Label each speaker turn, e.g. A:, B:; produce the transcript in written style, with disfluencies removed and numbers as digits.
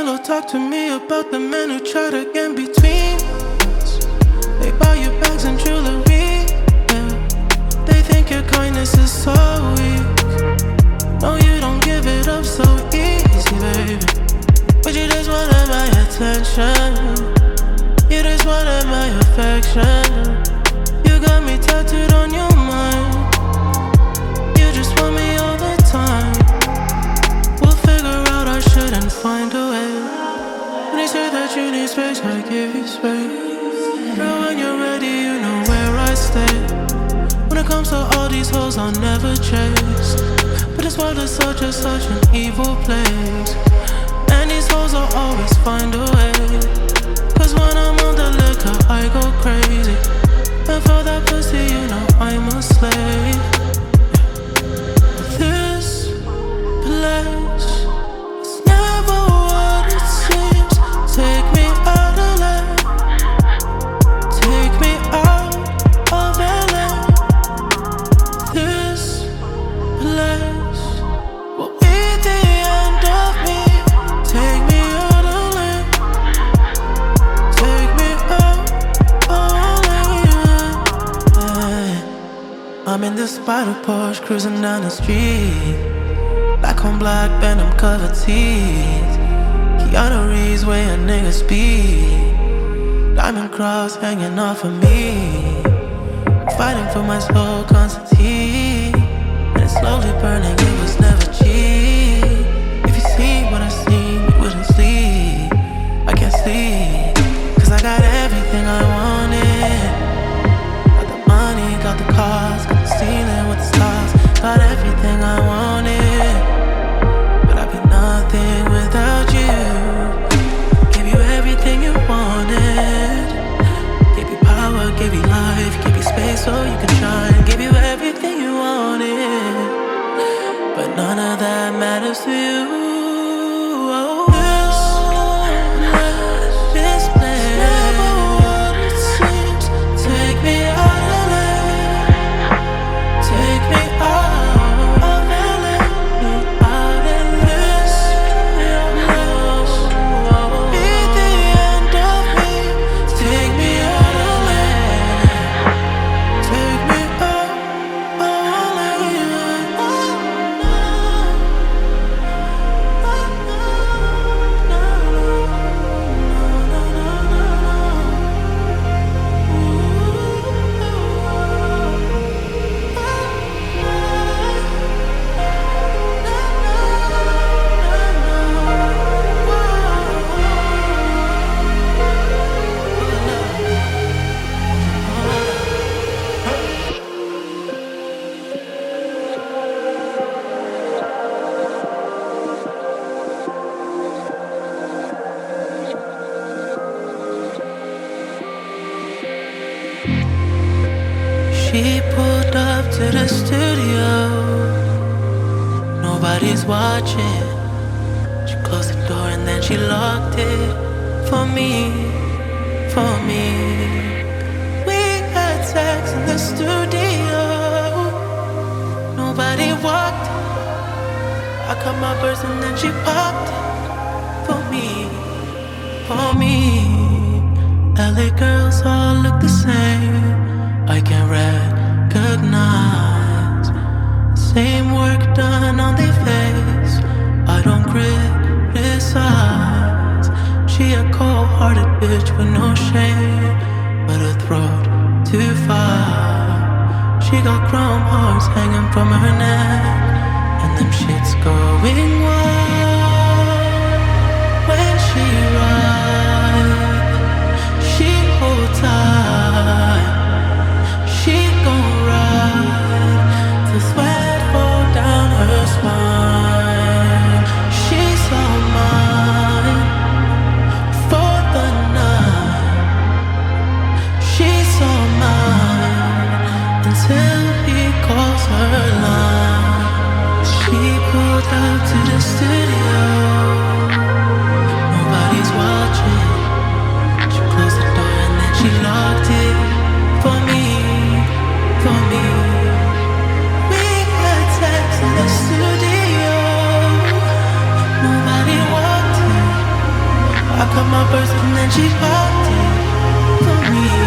A: pillow, talk to me about the men who try to get between us. They buy you bags and jewelry, yeah. They think your kindness is so weak. No, you don't give it up so easy, baby. But you just wanted my attention. You just wanted my affection. You got me tattooed on your mind. You just want me all the time. We'll figure out our shit and find a way. When you say that you need space, I give you space. Girl, when you're ready, you know where I stay. When it comes to all these hoes, I'll never chase. But this world is such an evil place. And these hoes will always find a way. Cause when I'm on the liquor, I go crazy. And for that pussy, you know I'm a slave. This place is never what it seems. Take me out of LA. Take me out of LA. This place will be the end of me. Take me out of LA. Take me out of LA. I'm in this spider Porsche cruising down the street. Black on black, Venom covered teeth. Keanu Reeves way a nigga speed. Diamond cross hanging off of me. Fighting for my soul, Constantine. And it's slowly burning, it was never cheap. If you see what I see, you wouldn't sleep. I can't sleep, cause I got everything I wanted. Got the money, got the cars, got the ceiling with the stars. Got everything I wanted, but I'd be nothing without you. Give you everything you wanted. Give you power, give you life, give you space so you can shine. Give you everything you wanted, but none of that matters to you. This place never what it seems. Take me out of LA. Take me out of LA. Out of this place be the end of me. Take me out of LA. Take me out of She pulled up to the studio. Nobody's watching. She closed the door and then she locked it. For me, for me. We had sex in the studio. Nobody walked. I cut my burst and then she popped it. For me, for me. LA girls all look the same. I can recognize same work done on their face. I don't criticize. She a cold-hearted bitch with no shame, but her throat too far. She got chrome hearts hanging from her neck, and them shits going wild. When she rides, she hold tight. She gon' ride till sweat fall down her spine. She's all mine for the night. She's all mine until he calls her line. She pulled up to the studio. my purse and then she popped it for me.